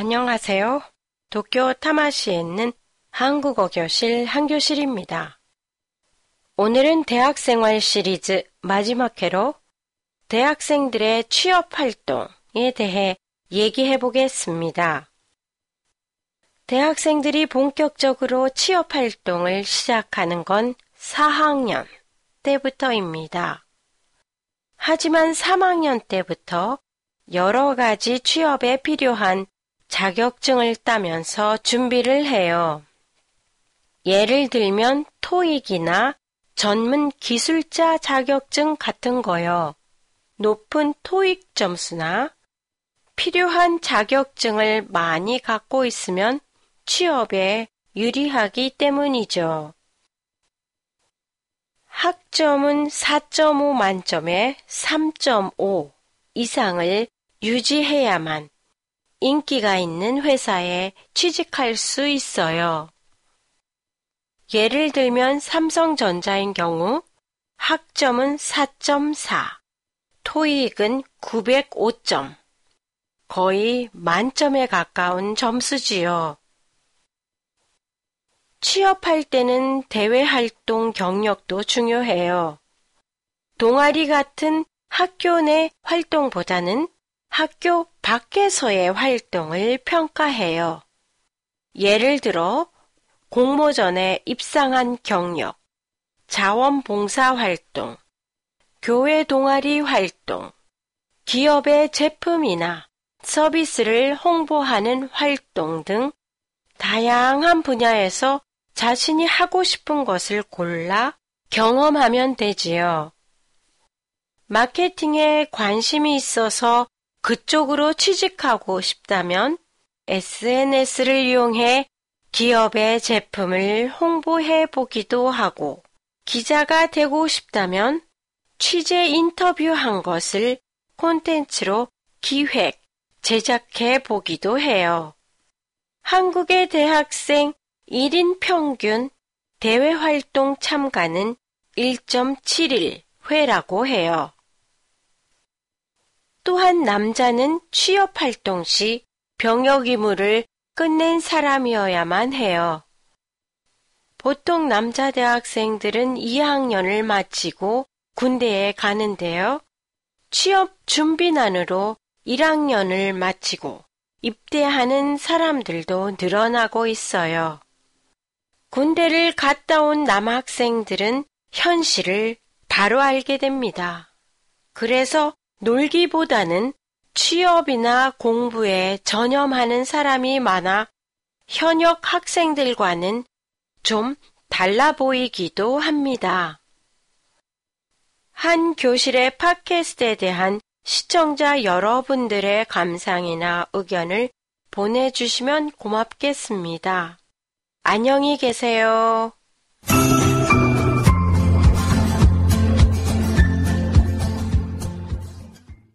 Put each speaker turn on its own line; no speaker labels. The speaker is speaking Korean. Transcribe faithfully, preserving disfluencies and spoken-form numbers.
안녕하세요. 도쿄 타마시에 있는 한국어 교실 한교실입니다. 오늘은 대학생활 시리즈 마지막 회로 대학생들의 취업활동에 대해 얘기해 보겠습니다. 대학생들이 본격적으로 취업활동을 시작하는 건 사 학년 때부터입니다. 하지만 삼 학년 때부터 여러 가지 취업에 필요한 자격증을 따면서 준비를 해요. 예를 들면 토익이나 전문 기술자 자격증 같은 거요. 높은 토익 점수나 필요한 자격증을 많이 갖고 있으면 취업에 유리하기 때문이죠. 학점은 사 점 오 만점에 삼 점 오 이상을 유지해야만 인기가 있는 회사에 취직할 수 있어요. 예를 들면 삼성전자인 경우 학점은 사 점 사, 토익은 구백오 점, 거의 만점에 가까운 점수지요. 취업할 때는 대외활동 경력도 중요해요. 동아리 같은 학교 내 활동보다는 학교 밖에서의 활동을 평가해요. 예를 들어 공모전에 입상한 경력, 자원봉사활동, 교회 동아리 활동, 기업의 제품이나 서비스를 홍보하는 활동 등 다양한 분야에서 자신이 하고 싶은 것을 골라 경험하면 되지요. 마케팅에 관심이 있어서 그쪽으로 취직하고 싶다면 에스엔에스를 이용해 기업의 제품을 홍보해 보기도 하고, 기자가 되고 싶다면 취재 인터뷰한 것을 콘텐츠로 기획, 제작해 보기도 해요. 한국의 대학생 일 인 평균 대외활동 참가는 일 점 칠일 회라고 해요. 또한 남자는 취업활동 시 병역 의무를 끝낸 사람이어야만 해요. 보통 남자 대학생들은 이 학년을 마치고 군대에 가는데요. 취업 준비난으로 일 학년을 마치고 입대하는 사람들도 늘어나고 있어요. 군대를 갔다 온 남학생들은 현실을 바로 알게 됩니다. 그래서 놀기보다는 취업이나 공부에 전념하는 사람이 많아 현역 학생들과는 좀 달라 보이기도 합니다. 한 교실의 팟캐스트에 대한 시청자 여러분들의 감상이나 의견을 보내주시면 고맙겠습니다. 안녕히 계세요.